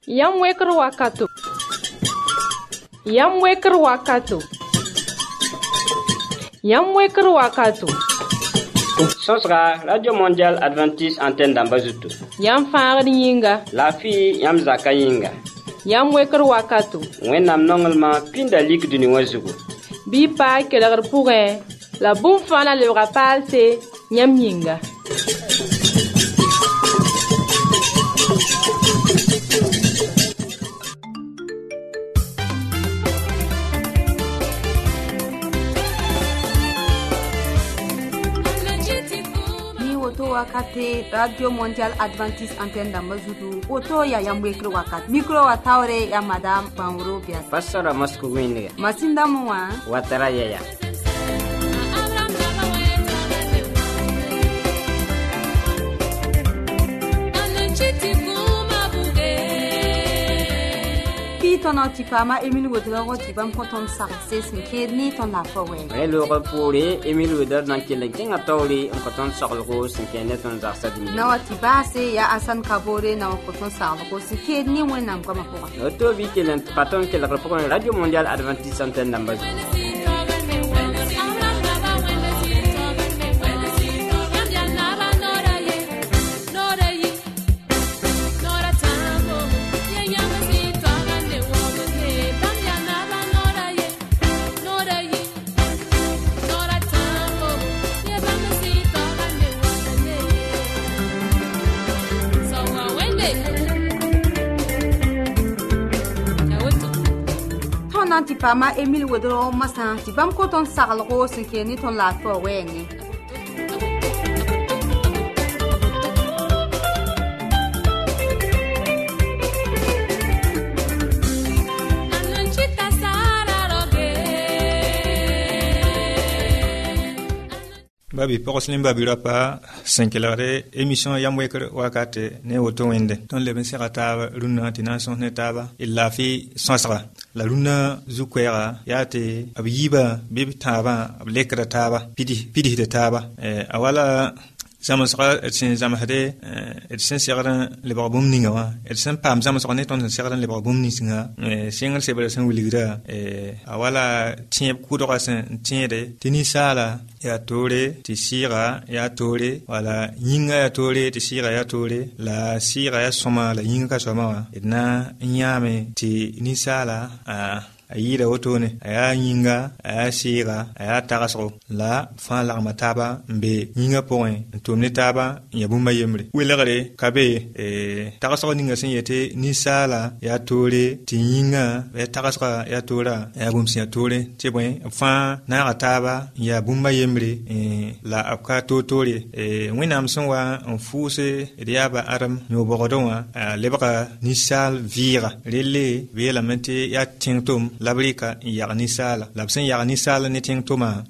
Yam weker wakato. Yam weker wakato. Yam weker wakato. Sosra Radio Mondial Adventiste Antenne d'Ambazuto. Yam faar yinga. La fille yam zaka yinga. Yam weker wakato. Wennam nongelma pinda lik duni wazugu. Bi pa kelegr pourrin. La boum fana le rapal se yam yinga. Wakati Radio Mondial Adventiste Antenne d'Ambazudu Oto ya yambwekre wakati Mikro wa taure ya Madame Banro Bias Pastora Mosco Winne Masinda mwa Watara yaya Tono tipama Emile Woodrow tipam konton sarse sinke ni ton la fowe. Le repourer Emile Woodrow dans quel king atoli en konton sarlo sinke ne ton zarsa dimi. Na watibase ya Asan Kabore na konton sarlo sinke ni wenam kama fowa. Auto bi kelen paton quel repourer Radio Mondial Adventiste Antenne d'Ambazuto. Tipama Emile Woodrow Massan tipam konton sarlo sinke ni ton la fowe ni. Babi poroslim babi rapa senkelare émission yamweker wakate ne woto wende ton leben serata runa tinanson ne taba illa fi sonsra la runa zukwera yate abiba bibi taba ablekra taba pidi de taba awala zama sara etsin zama hade etsin sera le barbum ninga wa etsin pam zama sara ne ton sera le barbum ninga singal sebele san wiligra awala tiep kudora san tiede tinisala ya tore ti sira ya tore wala yinga ya tore ti sira ya tore la sira ya soma la yinga ka soma wa idna nyame ti nisala ayira wotone aya yinga aya sira aya taraso la fa la mataba mbe yinga point ntomne taba yabumba yemre welagare kabe taraso ninga senyete nisala ya tore ti yinga ya taraso ya tora ya bumsi ya tore tibwe fa na ataba ya bumba yemre la apka totore wenam sonwa en fuse riaba aram no bogodonwa lebaka nisal vira rele vela mente ya tintom labrika yagni sala labsen yagni sala ne ting toma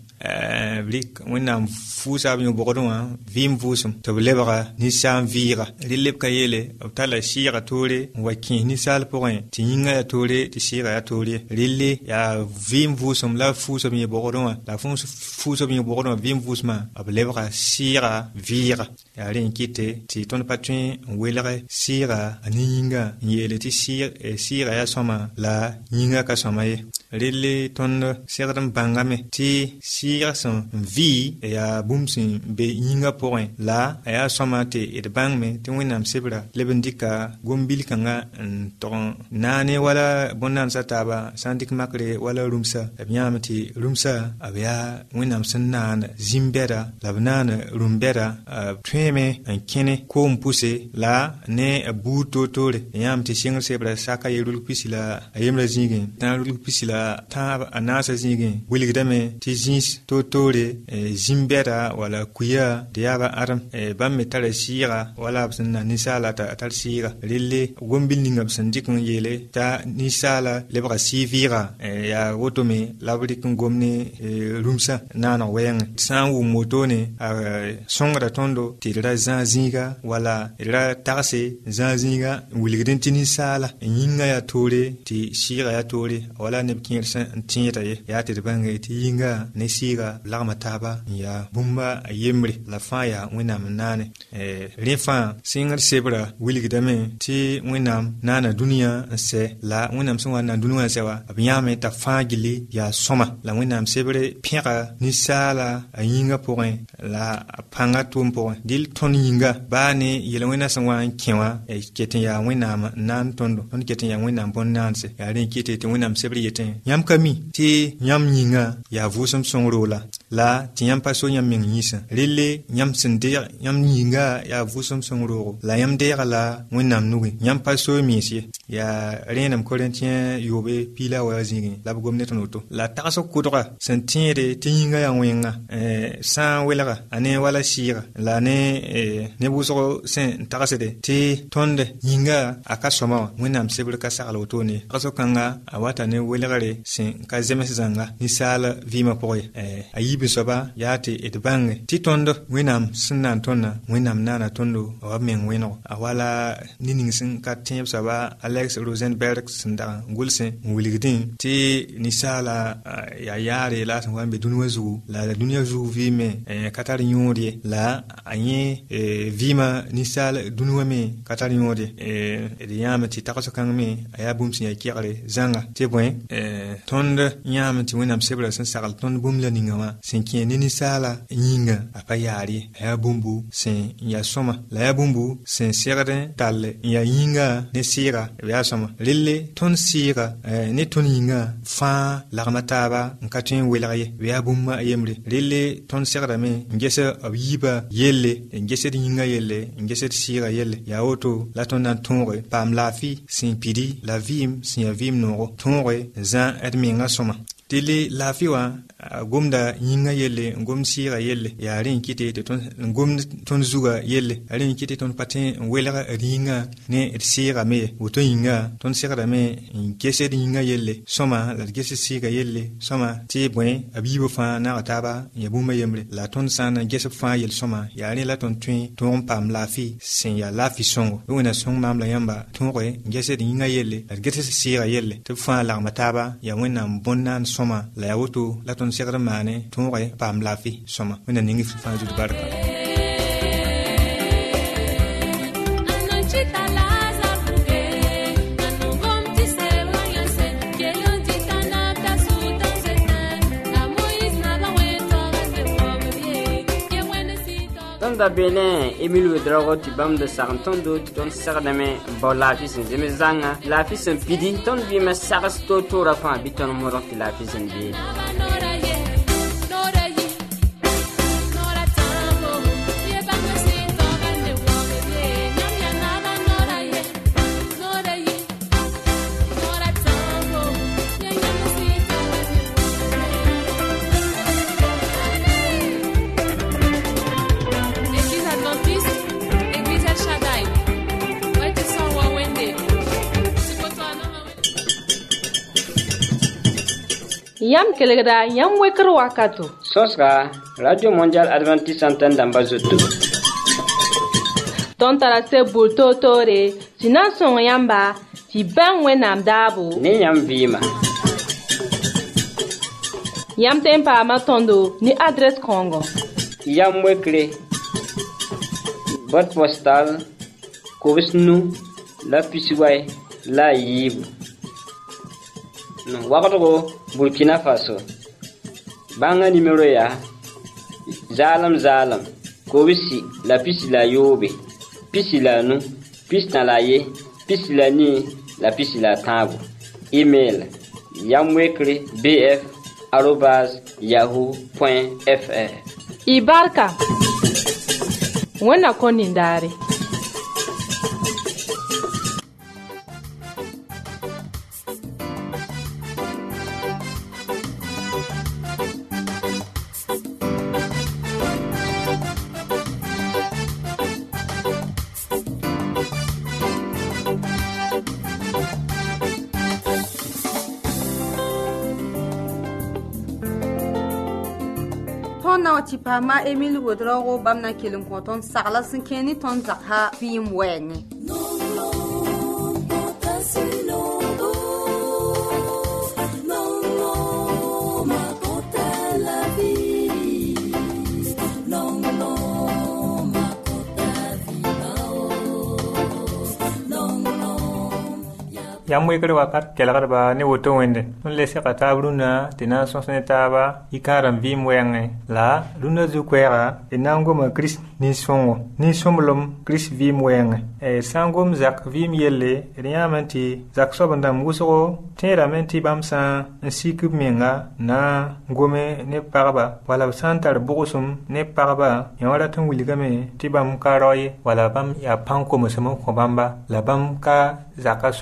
blik wenam fusa bi bogodwa vim fusum to lebara ni sam vira lileb kayele tala shira tore wakin ni sal point tinga ya tore ti shira ya tore lille ya vim fusum la fusum bi bogodwa la fusum bi bogodwa vim fusma ab lebara shira vira ya rin kite ti ton patrin welere shira aninga yele ti shira ya soma la yinga ka soma ye lille ton serdan bangame ti shira son vi ya bumsin be yinga point la aya somate et bangme ti winam sebra lebendika gombil kanga ton nane wala bonan sataba sandik makre wala rumsa abnyamati rumsa abya winam sannan zimbera labnana rumbera tweme ankene ko mpuse la ne buto tore yamti single sebra saka yirul pisila ayemra zingen tanul pisila ta anasa zingen wiligdame ti zins totore zimbera wala kuya diaba aram bamme tare sira wala absna nisala ta tar sira lille gombil ningam sandikun yele ta nisala lebra sivira ya wotome labrikun gomne rumsa nana wen sanwu motone songra tondo tira zanziga wala ira tarse zanziga wiligden tinisala yinga ya tore ti sira ya tore wala nebkin san tinyeta ya te banga ti yinga ne sira lagma tab taaba ya bumba yemre la fa ya wẽnnaam naane rẽ fãa sɩngr sebra wilgdame tɩ wẽnnaam naana dũniyã n sɛ la wẽnnaam sẽn wa n na dũniyã sɛ wa b yãame t'a fãa gilli yaa sõma la wẽnnaam sebre pẽga ninsaala a yĩngã pʋgẽ la a pãngã tʋʋm pʋgẽ dɩl tõnd yĩnga baa ne yel-wẽnã sẽn wa n kẽ wã ket n yaa wẽnnaam n naan tõndo tõnd ket n yaa wẽnnaam bõn-naanse yaa rẽ kɩte tɩ wẽnnaam sebr yetẽ yãmb ka mi tɩ yãmb yĩngã yaa vʋʋsem sõngro la tɩ yãmb pa so yãmb meng yĩsã relle yãmb sẽn deeg yãmb yĩnga yaa vʋʋsem sõngroogo la yãmb deega la wẽnnaam nugẽ yãmb pa so miis ye yaa rẽenem Korintiyã yoobe piila wa zĩigẽ la b gom ne tõnd woto la tagsg kʋdga sẽn tẽede tɩ yĩnga yaa wẽnga sã n welga a ne wala sɩɩga la ne wʋsg sẽn tagsde tɩ tõnd yĩnga a ka sõma wã wẽnnaam sebr ka sagl wotone tagsg kãnga a wata ne welgre sẽn ka zems zãnga ninsaal vɩɩmã pʋgẽ a yiib soaba yaa tɩ d bãnge tɩ tõnd wẽnnaam sẽn naan tõndã wẽnnaam naana tõndo a wa meng wẽnego a wala ne ning sẽn ka tẽeb soaba Alex Rosenberg sẽn dag n gʋlsẽ n wilgdẽ tɩ ninsaala yaa yaare la sẽn wa n be dũniyã zugu la dũniyã zugu vɩɩme ka tar yõod ye la a yẽ vɩɩmã ninsaal dũniyã me ka tar yõod ye d yãame tɩ tags kãng me a yaa bũmb sẽn yaa kɛgre zãnga tɩ bõe tõnd yãame tɩ wẽnnaam sebra sẽn sagl tõnd bũmb la ninga wã sẽn kẽ ne ninsaala yĩnga a pa yaar ye a yaa bũmbu sẽn yaa sõma la yaa bũmbu sẽn segd tall n yaa yĩnga ne sɩɩga b yaa sõma relle tõnd sɩɩga ne tõnd yĩnga fãa lagma taaba n ka tõe n welg ye b yaa bũmba a yembre relle tõnd segdame n ges b yiiba yelle n gesd yĩnga yelle n gesd sɩɩga yelle yaa woto la tõnd na n tõoge paam laafɩ sẽn pidi la vɩɩm sẽn yaa vɩɩm noogo tõoge n zã d menga sõma tɩle laafɩ wã gomda yĩnga yelle n gomd sɩɩga yelle yaa rẽ n kɩte tɩ n gomd tõnd zuga yelle a rẽ n kɩte tõnd pa tõe n welg d yĩnga ne d sɩɩga me ye woto yĩnga tõnd segdame n gesd yĩnga yelle sõma la d gesd sɩɩga yelle sõma tɩ bõe b yiibo fãa naag taaba n yaa bũmba yembre la tõnd sã n na ges b fãa yel sõma yaa rẽ la tõnd tõe tõog n paam laafɩ sẽn yaa laafɩ sõngo bɩ wẽna sõng maam la yãmba tõoge n gesd yĩnga yelle la d gesd sɩɩga yelle tɩ b fãa lagma taaba yaa wẽnnaam bõn-naan sõma la yaa woto la tõnd segd n maane tõoge paam laafɩ sõma wẽnna ning fãa zut barka da bene Emile Wedrago tɩ bãmb da sagn tõndo tɩ tõnd segdame n bao laafɩ sẽn zems zãnga laafɩ sẽn pidi tõnd vɩɩmã sags toor-toorã fãa bɩ tõnd modg tɩ laafɩ sẽn beene Yam kelgda yam wekr wakato. Sosga Radio Mondial Adventiste Antenne d'Ambazoto. Ton tara se bulto tore, tina son yamba, ti bang wenam dabo. Ne yam vima. Yam tempa matondo ni adres Congo. Yam wekre. Boîte postale Kovisnu la Pisiway la Yib. No wakato Burkina Faso. Banga numéro ya Zalam Kovisi la pisi la yobe pisi la nu pisi na la ye pisi la ni la pisi la tabu. Email yamwekre@yahoo.fr. Ibarka Wena konindare. Ti pama Emile Wedrago bamna kelin konton sagla sin keni ton zakha bim wenge yam wekre wakat kelgarba ne woto wende on le seka tabruna tina sonsne taba ikaram vim wenge la runa zu kwera enango ma Chris ni songo ni somlom Chris vim wenge sangom zak vim yelle riamanti zak sobandam guso tera menti bamsa nsikub menga na ngome ne parba wala santar bugusum ne parba yawala tun wiligame tibam karoy wala bam ya panko musamo ko bamba la bam ka zaka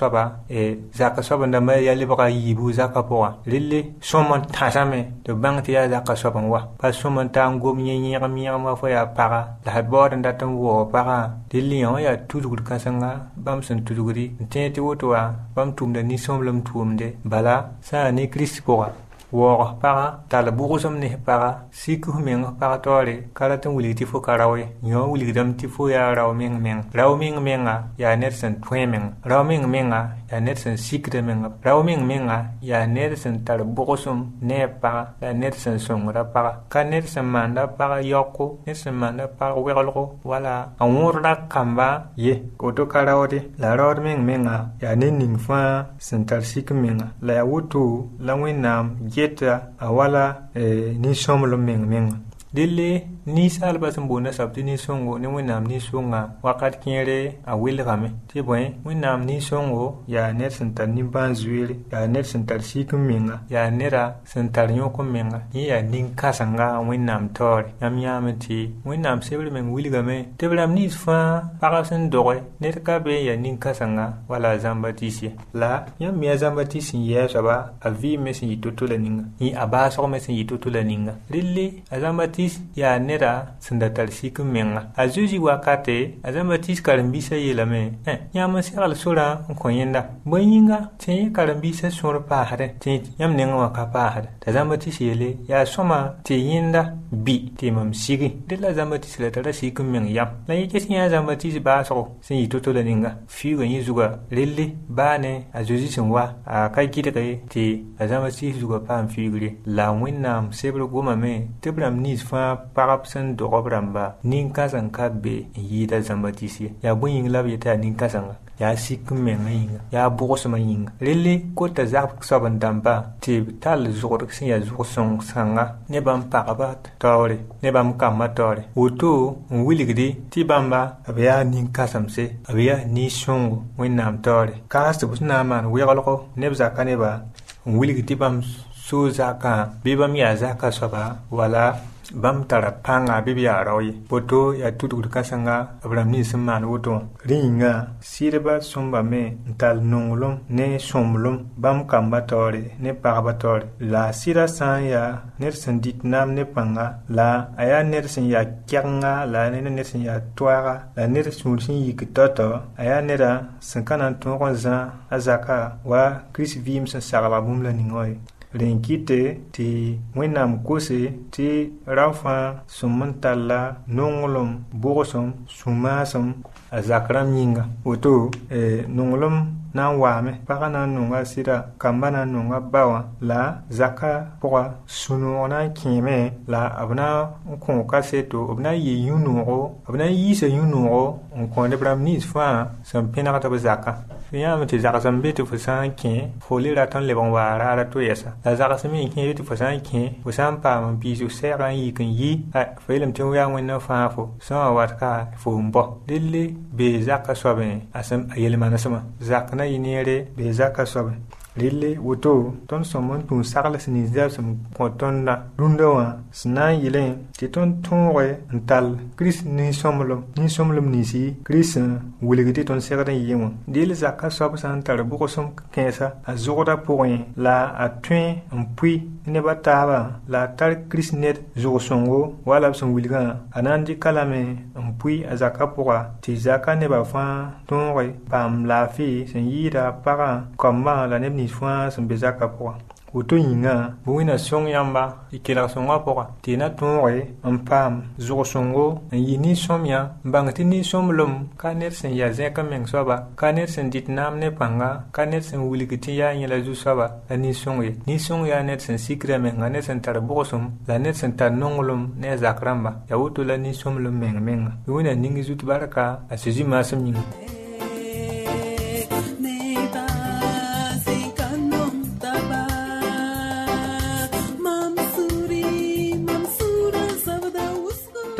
soba ndama ya libaka yibu zaka poa lille somon tasame to bangti ya zaka soba wa pa somon tango nyenye ma fo ya para la bod ndatam wo para lille ya tudugur kasanga bam san tuduguri tete wotoa bam tumda ni somlum tumde bala sa ni krispoa wo para tala bugusum ne para siku meng para tore karatan wuliti fo karawe nyo wuligdam ti fo ya raw meng menga ya nersan twemeng raw meng menga ya nersan sikre menga raw meng menga ya nersan tala bugusum ne para ya nersan songra para ka nersan manda para yoko nersan manda para wegolgo wala anwurda kamba ye koto karawde la raw meng menga ya nening fa sentar sik menga la wutu la wenam yeta awala ni somlo meng dille ni salba sambona sabti ni songo ne wenam ni songa wakat kere a wilgame ti boy wenam ni songo ya net sentar ni banzuire ya net sentar sikum menga ya nera sentar nyoko menga ni ya nin kasanga wenam tor yamti wenam sebre men wilgame te bram ni fa parasen doye net ka be ya nin kasanga wala zambatisi la yam ya zambatisi ya saba avi mesin yitotula ninga ni abaso mesin yitotula ninga dille azambati ya nera sendatar sikum menga azuji wakate azambatis karambisa yelame nyama sekal sura nkonyenda boyinga te karambisa sura pahare te yam nenga wakapahare azambatis yele ya soma te yinda bi te mam sigi de la zambatis la tara sikum menga yam la yake sin ya zambatis baso sin yitotola ninga fiwa yizuga lille bane azuji sinwa akai kidake te azambatis zuga pam figure la winnam sebro goma me tebram nis fa parapsan do robramba ninka zanka be yida zambatisi ya buyin lab yata ninka zanga ya sikum menga yinga ya bogosma yinga lele kota zak saban damba te tal zor sin ya zor song sanga ne bam parabat tawre ne bam kamatore oto wiligdi ti bamba abya ninka samse abya ni songo winnam tawre kastu busna man wegolko ne zaka ne ba wiligdi bam so zaka bibam ya zaka soba wala bam tara panga bibiya rawi boto ya tudur kasanga abram ni simman woto ringa sirba somba me tal nongolom ne somlom bam kamba tore ne parba tore la sira san ya nersen dit nam ne panga la aya nersen ya kyanga la ne nersen ya twara la nersen sin yikitoto aya nera sankanan tonza azaka wa Chris vim san saraba bumla ningoy renkite ti wenam kose ti rafa sumantalla nongolom bogosom sumasom azakram yinga oto nongolom na wame paka na nonga sira kamba na nonga bawa la zaka poa sunu ona kime la abna ko kaseto abna yi yunugo abna yi se yunugo on ko de bram nis fa sam pena ta zaka yam ti zaka sambe to fasan ke foli la ton le bon wara la to yesa la zaka sami ke to fasan ke fasan pa man bi su sera yi kan yi fa ilm to ya wonna fa fo so wat ka fo mbo dille be zaka sobe asam ayel manasama zaka na yinere be zaka sobe lille woto ton somon tun sarla sini zasum kontonna rundawa sna yile ti ton tonre ntal Chris ni somlom nisi Chris wuligiti ton serda yimo dil zaka sob santar buko som kensa azura point la atun mpui ne bataba la tar Chris net zo songo wala son wuliga anandi kalame mpui azaka poa ti zaka ne ba fa tonre pam la fi sen yida para komma la ne ni fois son bezaka poa oto yinga buina song yamba ikela songa poa tina tonre ampam zo songo yini somya bangti ni somlom kaner sen ya zeka meng soba kaner sen dit nam ne panga kaner sen wuligiti ya yela zu soba ani songe ni song ya net sen sikre meng ne sen tar bosum la net sen tar nongolom ne zakramba ya oto la ni somlom meng buina ningi zut baraka asiji masam yinga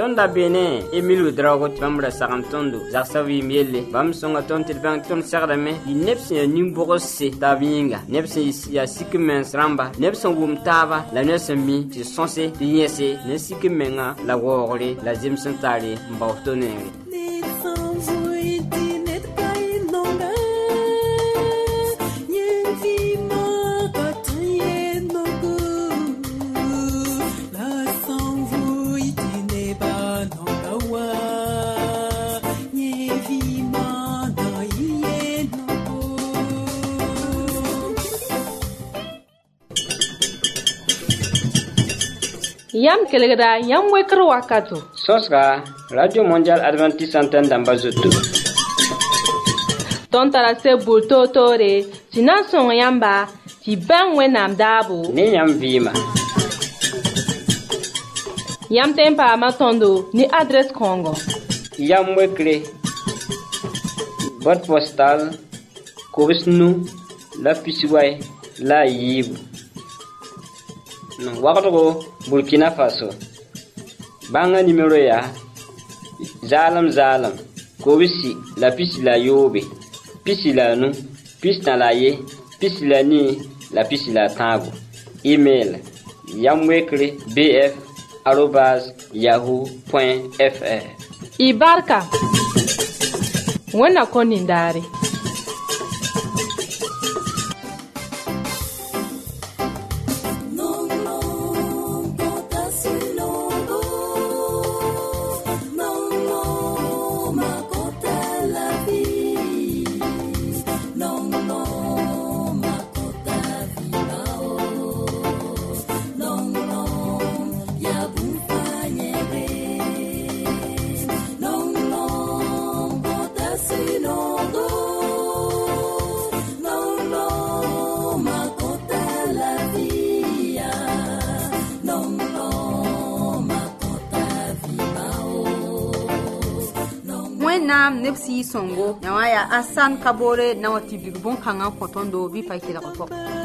tonda bene Emile Drago bamra sagantondo zaksawi miele bam songa tonte bang ton sagdame nepsi nimbogosse tavinga nepsi ya sikmen ramba nepsi wum tava la nesmi ti sonse ti yese ne sikmenga la wogre la zimsantare mbawtonere Yam kelegda yam wekro wakato. Sosra Radio Mondial Adventiste Antenne d'Ambazoto. Ton tarase bulto tore, tina son yamba, ti ben wenam dabo. Ne yam vima. Yam tempa matondo ni adresse Congo. Yam wekre. Boîte postale Korisnu la Pisiway la Yib. Wakato Burkina Faso. Banga numéro ya Zalam Kobisi la pisi la Yobe. Pisi la nu, pisi na la ye, pisi la ni, la pisi la tango. Email yamwekre bf@yahoo.fr. Ibarka. Wana konindari. Nam nepsi songo nyawaya asan kabore na wati bigbon kanga kotondo bi faikira ko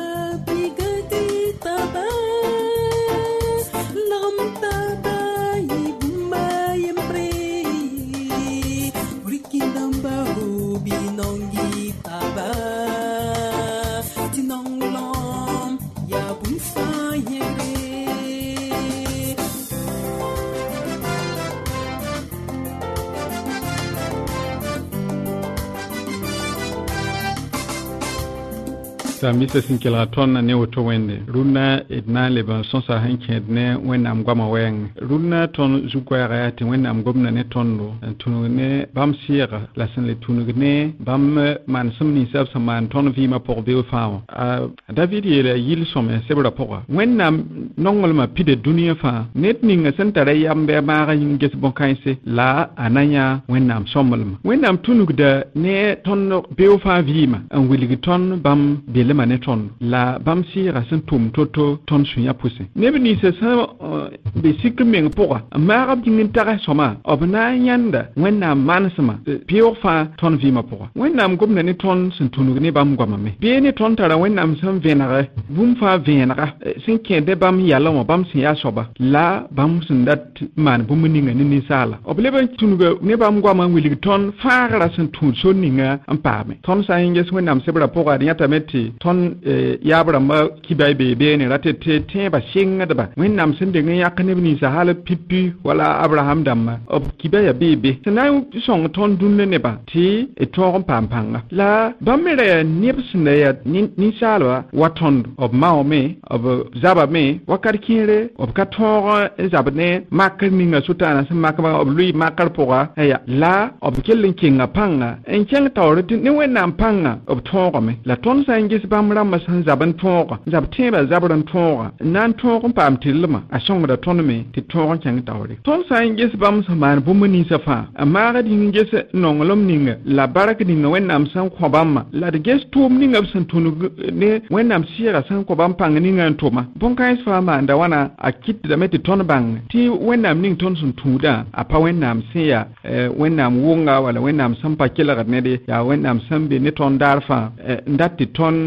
Mr. Sinkelaton ne woto wende runa edna leba sonsa hanke ne wenam gwama weng runa ton zukwara ati wenam gomna ne tondo tunu ne bam sira la sen le tunu ne bam man sumni sab saman ton vima por be fa David yele yil some sebra pora wenam nongol ma pide dunia fa net ninga sentara yambe ma ga yinges bon kaise la ananya wenam somol wenam tunu da ne ton be fa vima an wiligi ton bam bele maneton la bamsi rasen tum toto ton sunya pousse nebni se sa be sikmeng pora marab dingin tara soma obna yanda wenna mansama piofa ton vima pora wenna gomna ni ton sentunu ne bam goma me be ni ton tara wenna sam venara bum fa venara sinke de bam yalla mo bam sin ya soba la bam sindat man bum ninga ni sala obleba tunuga ne bam goma wili ton fara sentun so ninga ampame ton sa inges wenna sebra pora nyata meti ton yabra ma kibai be ne ratete te ba shinga da ba wennam sinde ngi yakane ni sa hala pipi wala Abraham damma ob kibaya bebe tanayu song ton dunne ne ba ti e ton pampanga la bamere nipsne ya ni salwa waton ob maome ob zaba me wakar kire ob kator zabne makar ninga sutana sa makaba ob lui makar poga ya la ob kellin kinga panga en keng tawrti ni wennam panga ob ton me la ton sa ngis bamra masan zaban tonga zab teba zabran tonga nan tonga pam tilma a songra tonme ti tonga chang tawri ton sa ngis bam saman bumuni safa amma ga din ngis nongolom ninga la barak dinga wennam san ko bamma la de ges tum ninga san tunu ne wennam sira san ko bam pang ninga toma bon kais fa ma nda wana a kit da meti ton bang ti wennam ning ton sun tuda a pa wennam siya wennam wonga wala wennam sampa kila ne de ya wennam sambe ne ton darfa ndatti ton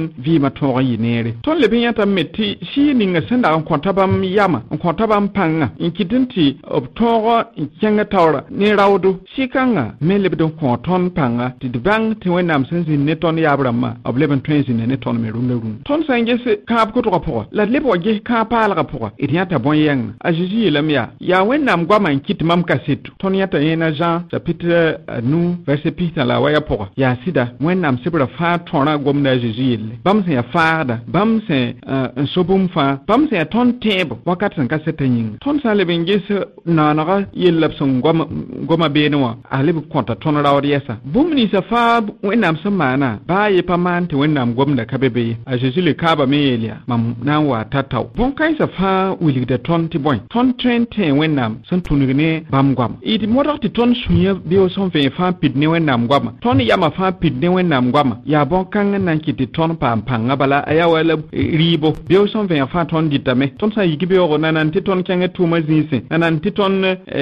ton vi ma ton yi nere ton le bin yata meti shi ninga senda an konta bam yama an konta bam panga in kidinti ob toro in kyanga tawra ne rawdu shi kanga me le bidon konton panga ti bang ti wenam sensin ne ton yabrama ob leben trensin ne ton me run ton sange se ka ko to ko la lebo ge ka pala ka po et yata bon yang a jiji lamia ya wenam gwa man kit mam kasetu ton yata yena Jean chapitre nous verset pita la waya po ya sida wenam sibra fa tona gomna jiji bam se ya faada bam se un sobum fa bam se ton tebo wakat san kaseta yin ton sa leben ge se na na yelap son goma benwa a lebo konta ton rawd yesa bum ni sa fa wenam samana ba ye paman te wenam gomna kabebe a jiji le kaba melia mam na wa tataw bon kai sa fa wili de ton ti boy ton trente wenam san tunugene bam gwam it modorti ton sunya bio son fe fa pidne wenam gwam ton yama fa pidne wenam gwam ya bon kan nan kiti ton pam panga bala aya wala ribo bio son fe fa ton ditame ton sa yigi bio nanan ti ton kenge tuma zinse nanan ti ton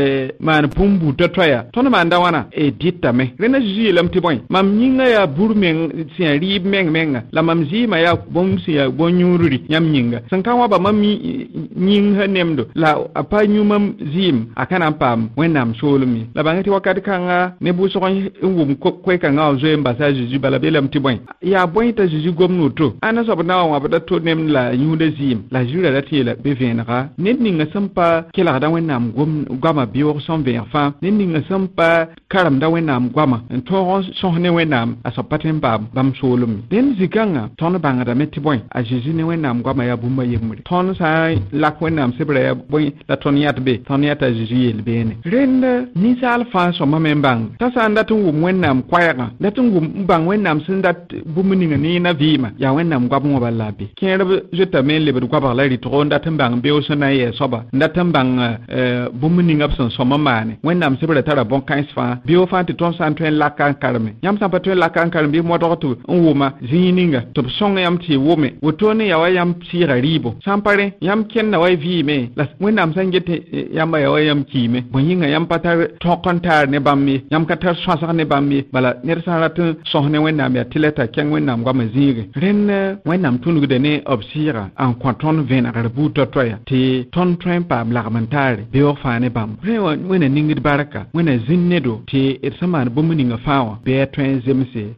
man pumbu totoya ton manda wana ditame rena ji lam ti boy mam nyinga ya burmen si rib meng la mam ji ma ya bon si ya bon nyururi nyam nyinga sankawa ba mam nyinga nemdo la apa nyumam zim akana pam wenam solumi la bangati wakati kanga ne bu so ngum ko kanga zo mbasa ji bala belam ti boy ya boy ta ji gomno to ana so na wa bada to nem la nyude zim la jura da ti la be venra nit ninga sampa kila da wenam gama bior son verfa nit ninga sampa karam da wenam gama to so ne wenam asopatem bam solumi den zikanga ton banga da meti boy a ji ne wenam gama ya bumba yemuri ton sa la wenam sebra ya boy la ton yat be ton yata ji yel bene renda ni sal fa so mamembang ta sa ndatun wum wenam kwaya ndatun wum bang wenam sindat bumuni ni na vima ya wenam gwab ngo balabi kere jeta men le bu gwab la ri to ndatun bang be o sona ye soba ndatun bang bumuni ngap son so mamane wenam sebra tara bon kais fa bi o fa ti ton san twen la kan karme yam sa pa twen la kan karme bi mo to to wuma zininga to songa yam ti wume wotone ya wayam sira ribo sampare yam ken na way vi me la wenam sangete yam ya wayam kime boyinga yam patar to kontar ne bammi yam katar swasa ne bammi bala ner sarat sohne wenam ya tileta ken wenam gwa mazige ren wenam tunu de ne obsira en konton ven arbu to toya ti ton train pa blagmentare be o fane bam re wena ningid baraka wena zinnedo ti et saman bomuninga fawa be train zemse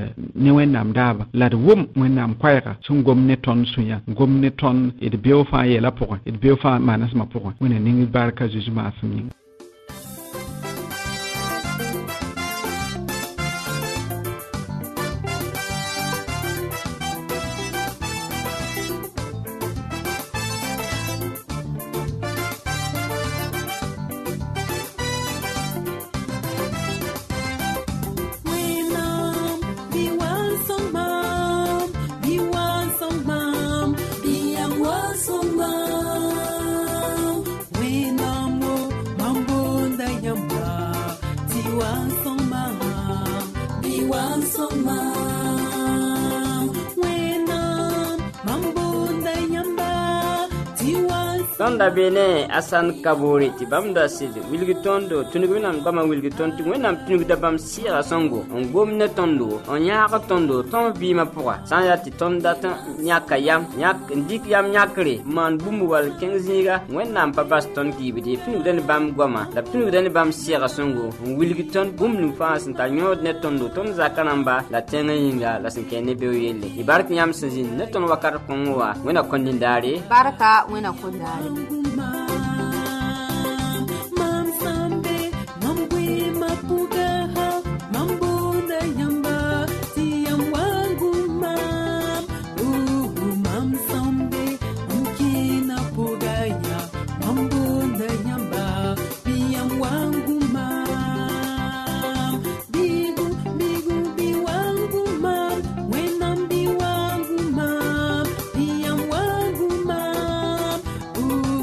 ne wenam daba la de wum wenam kwayra sun gomne ton sunya gomne ton et be o fa yela pour et be o fa manas ma pour wena ningid baraka jujuma asmi Tonda bene asan kabori ti bamda sidi wilgitondo tunugwinam gama wilgiton ti wenam tunugda bam sira songo on gomne tondo on yaaka tondo ton bima pourwa san ya ti tonda tan nyaka yam nyak ndik yam nyakre man bumbu wal kenziga wenam pa baston ki bidi tunugdan bam goma da tunugdan bam sira songo on wilgiton bumnu fa san ta nyod ne tondo ton zakanamba la tenga yinga la sinkene be yelle ibarak nyam sinzin ne ton wakar konwa wena kondindare baraka wena kondare Ooh.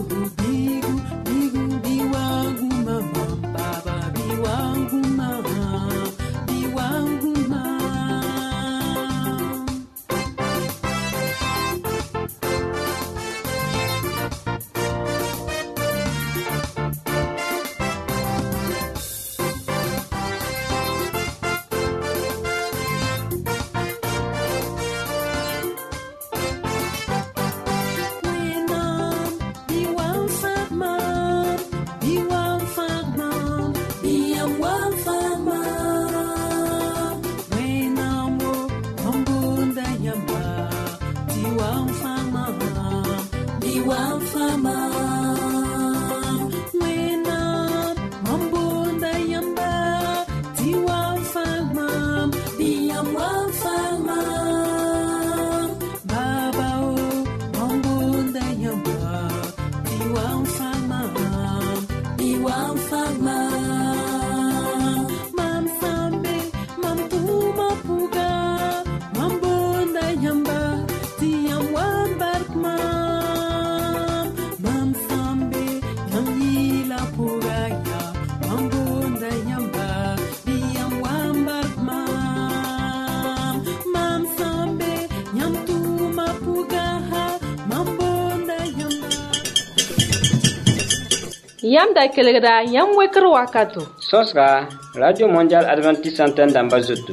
Yam da kelgra yam wekr wakato. Sosra Radio Mondial Adventiste Antenne d'Ambazout.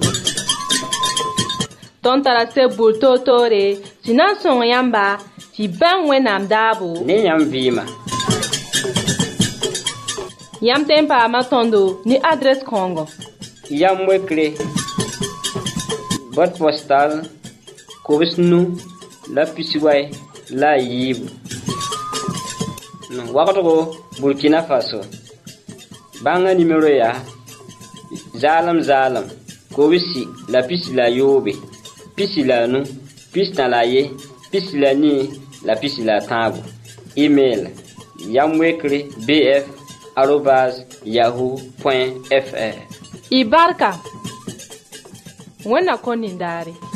Ton tarase bulto tore, sinan son yamba, ti ban wenam dabo. Ne yam vima. Yam tempa matondo ni adresse Congo. Yam wekre. Boîte postale. Kobisnu la pisiway la yibu. Wakato Burkina Faso. Banga numéro ya. Zalam. Kobisi la pisi la yobe. Pisi la nu. Pisi na la ye. Pisi la ni. La pisi la tabu. Email. Yamwekre bf@yahoo.fr. Ibarka. Wena konindari.